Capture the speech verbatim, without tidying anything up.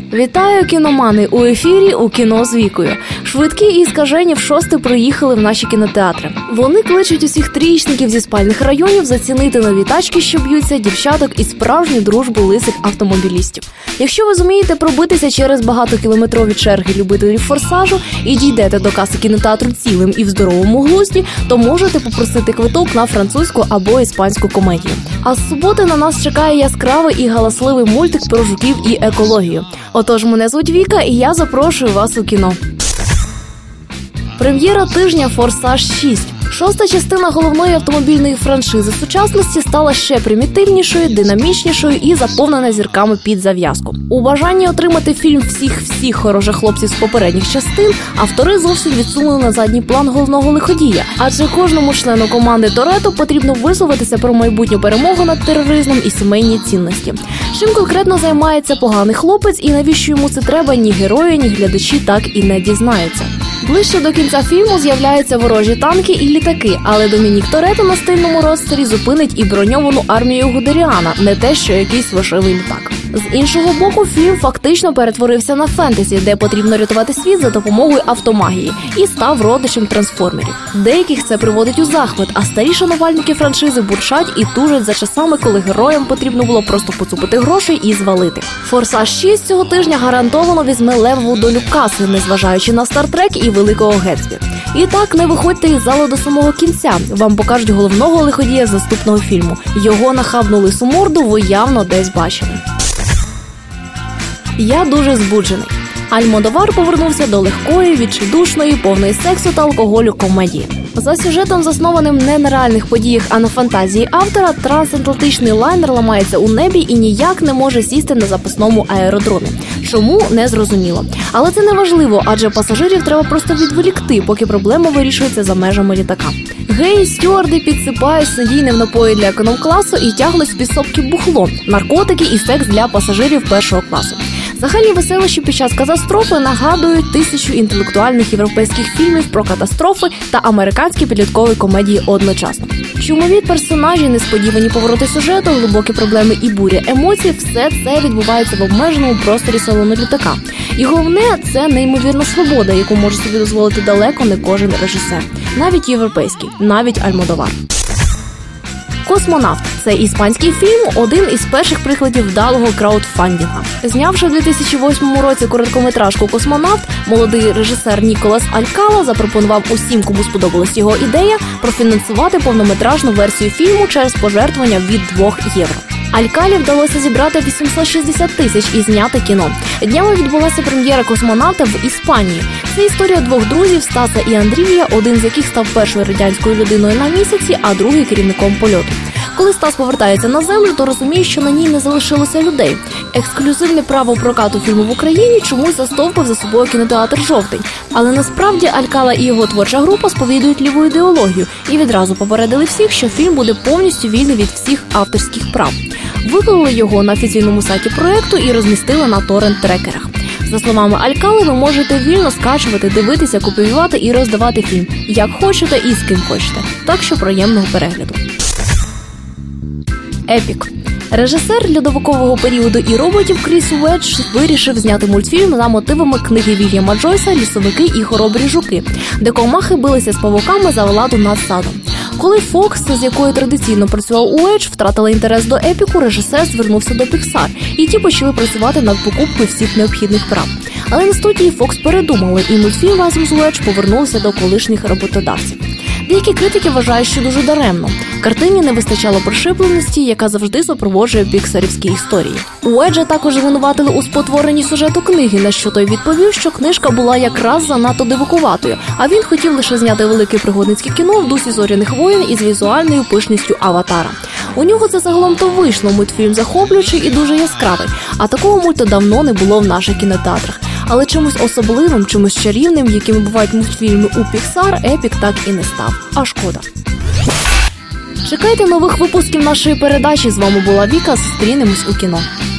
Вітаю, кіномани! У ефірі «У кіно з Вікою». Швидкі і скажені в шосте приїхали в наші кінотеатри. Вони кличуть усіх трієчників зі спальних районів зацінити нові тачки, що б'ються, дівчаток і справжню дружбу лисих автомобілістів. Якщо ви зумієте пробитися через багатокілометрові черги любителів форсажу і дійдете до каси кінотеатру цілим і в здоровому глузді, то можете попросити квиток на французьку або іспанську комедію. А з суботи на нас чекає яскравий і галасливий мультик про жуків і екологію. Отож, мене звуть Віка, і я запрошую вас у кіно. Прем'єра тижня «Форсаж шість». Шоста частина головної автомобільної франшизи сучасності стала ще примітивнішою, динамічнішою і заповнена зірками під зав'язку. У бажанні отримати фільм всіх-всіх хороших хлопців з попередніх частин автори зовсім відсунули на задній план головного лиходія, адже кожному члену команди Торетто потрібно висловитися про майбутню перемогу над тероризмом і сімейні цінності. Чим конкретно займається поганий хлопець і навіщо йому це треба, ні герої, ні глядачі так і не дізнаються. Ближче до кінця фільму з'являються ворожі танки і літаки, але Домінік Торетто на стильному розстері зупинить і броньовану армію Гудеріана, не те, що якийсь вишивий літак. З іншого боку, фільм фактично перетворився на фентезі, де потрібно рятувати світ за допомогою автомагії, і став родичем трансформерів. Деяких це приводить у захват, а старі шанувальники франшизи бурчать і тужать за часами, коли героям потрібно було просто поцупити грошей і звалити. «Форсаж шість» цього тижня гарантовано візьме левову долю каси, незважаючи на «Стартрек» і «Великого Гетсбі». І так, не виходьте із залу до самого кінця. Вам покажуть головного лиходія з наступного фільму. Його нахабну лису морду ви явно десь бачили. Я дуже збуджений. Альмодовар повернувся до легкої, відчайдушної, повної сексу та алкоголю комедії. За сюжетом, заснованим не на реальних подіях, а на фантазії автора, трансатлантичний лайнер ламається у небі і ніяк не може сісти на запасному аеродромі. Чому – не зрозуміло. Але це не важливо, адже пасажирів треба просто відволікти, поки проблема вирішується за межами літака. Гей, стюарди підсипають снодійне в напої для економ-класу і тягнуть з підсобки бухло, наркотики і секс для пасажирів першого класу. Загальні веселощі під час катастрофи нагадують тисячу інтелектуальних європейських фільмів про катастрофи та американські підліткові комедії одночасно. Шумові персонажі, несподівані повороти сюжету, глибокі проблеми і буря емоцій – все це відбувається в обмеженому просторі салону літака. І головне – це неймовірна свобода, яку може собі дозволити далеко не кожен режисер. Навіть європейський, навіть Альмодовар. «Космонавт» – це іспанський фільм, один із перших прикладів вдалого краудфандінга. Знявши в дві тисячі восьмому році короткометражку «Космонавт», молодий режисер Ніколас Алькала запропонував усім, кому сподобалась його ідея, профінансувати повнометражну версію фільму через пожертвування від двох євро. Алькалі вдалося зібрати вісімсот шістдесят тисяч і зняти кіно. Днями відбулася прем'єра «Космонавта» в Іспанії. Це історія двох друзів Стаса і Андрія, один з яких став першою радянською людиною на місяці, а другий керівником польоту. Коли Стас повертається на землю, то розуміє, що на ній не залишилося людей. Ексклюзивне право прокату фільму в Україні чомусь застовпив за собою кінотеатр «Жовтень». Але насправді Алькала і його творча група сповідують ліву ідеологію і відразу попередили всіх, що фільм буде повністю вільний від всіх авторських прав. Виклали його на офіційному сайті проєкту і розмістили на торрент-трекерах. За словами Алькали, ви можете вільно скачувати, дивитися, копіювати і роздавати фільм, як хочете і з ким хочете. Так що приємного перегляду. Епік. Режисер льодовикового періоду і роботів Кріс Уедж вирішив зняти мультфільм за мотивами книги Вільяма Джойса «Лісовики і хоробрі жуки», де комахи билися з павуками за владу над садом. Коли Фокс, з якою традиційно працював Уедж, втратила інтерес до епіку, режисер звернувся до Pixar, і ті почали працювати над покупкою всіх необхідних прав. Але на студії Фокс передумали, і мультфільм разом з Уедж повернувся до колишніх роботодавців. Деякі критики вважають, що дуже даремно. Картині не вистачало пришипленості, яка завжди супроводжує піксарівські історії. Уеджа також звинуватили у спотворенні сюжету книги, на що той відповів, що книжка була якраз занадто дивакуватою, а він хотів лише зняти велике пригодницьке кіно в дусі «Зоряних воїн» із візуальною пишністю «Аватара». У нього це загалом то вийшло, мультфільм захоплюючий і дуже яскравий, а такого мульту давно не було в наших кінотеатрах. Але чимось особливим, чимось чарівним, якими бувають мультфільми у Pixar, епік так і не став. А шкода. Чекайте нових випусків нашої передачі. З вами була Віка. Зустрінемось у кіно.